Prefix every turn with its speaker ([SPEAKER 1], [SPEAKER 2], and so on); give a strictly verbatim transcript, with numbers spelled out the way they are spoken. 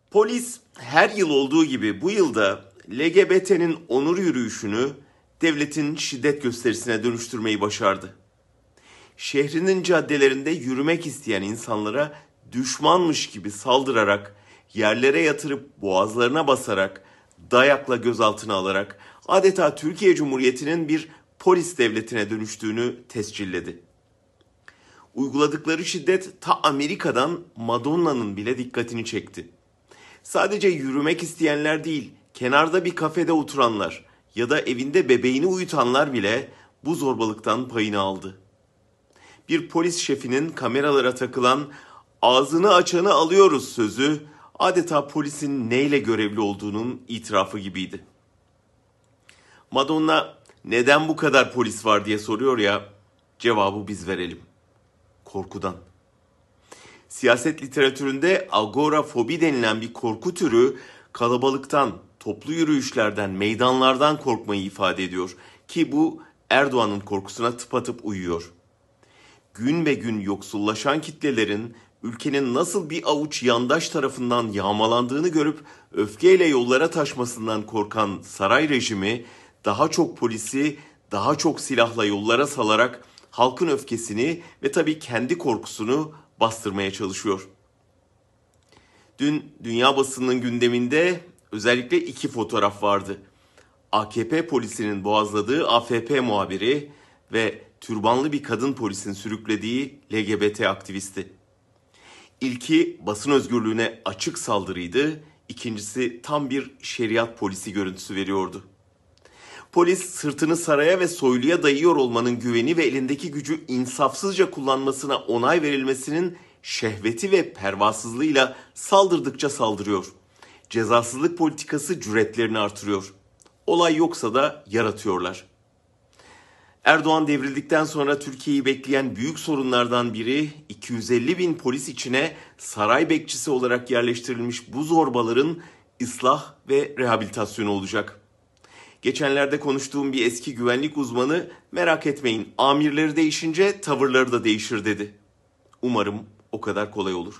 [SPEAKER 1] Polis her yıl olduğu gibi bu yılda L G B T'nin onur yürüyüşünü devletin şiddet gösterisine dönüştürmeyi başardı. Şehrinin caddelerinde yürümek isteyen insanlara düşmanmış gibi saldırarak, yerlere yatırıp boğazlarına basarak, dayakla gözaltına alarak adeta Türkiye Cumhuriyeti'nin bir polis devletine dönüştüğünü tescilledi. Uyguladıkları şiddet ta Amerika'dan Madonna'nın bile dikkatini çekti. Sadece yürümek isteyenler değil, kenarda bir kafede oturanlar ya da evinde bebeğini uyutanlar bile bu zorbalıktan payını aldı. Bir polis şefinin kameralara takılan "ağzını açanı alıyoruz" sözü adeta polisin neyle görevli olduğunun itirafı gibiydi. Madonna neden bu kadar polis var diye soruyor ya, cevabı biz verelim. Korkudan. Siyaset literatüründe agorafobi denilen bir korku türü kalabalıktan, toplu yürüyüşlerden, meydanlardan korkmayı ifade ediyor. Ki bu Erdoğan'ın korkusuna tıpatıp uyuyor. Gün be gün yoksullaşan kitlelerin ülkenin nasıl bir avuç yandaş tarafından yağmalandığını görüp öfkeyle yollara taşmasından korkan saray rejimi daha çok polisi, daha çok silahla yollara salarak halkın öfkesini ve tabii kendi korkusunu bastırmaya çalışıyor. Dün dünya basınının gündeminde özellikle iki fotoğraf vardı. A K P polisinin boğazladığı A F P muhabiri ve türbanlı bir kadın polisin sürüklediği L G B T aktivisti. İlki basın özgürlüğüne açık saldırıydı, ikincisi tam bir şeriat polisi görüntüsü veriyordu. Polis sırtını saraya ve soyluya dayıyor olmanın güveni ve elindeki gücü insafsızca kullanmasına onay verilmesinin şehveti ve pervasızlığıyla saldırdıkça saldırıyor. Cezasızlık politikası cüretlerini artırıyor. Olay yoksa da yaratıyorlar. Erdoğan devrildikten sonra Türkiye'yi bekleyen büyük sorunlardan biri iki yüz elli bin polis içine saray bekçisi olarak yerleştirilmiş bu zorbaların ıslah ve rehabilitasyonu olacak. Geçenlerde konuştuğum bir eski güvenlik uzmanı merak etmeyin amirleri değişince tavırları da değişir dedi. Umarım o kadar kolay olur.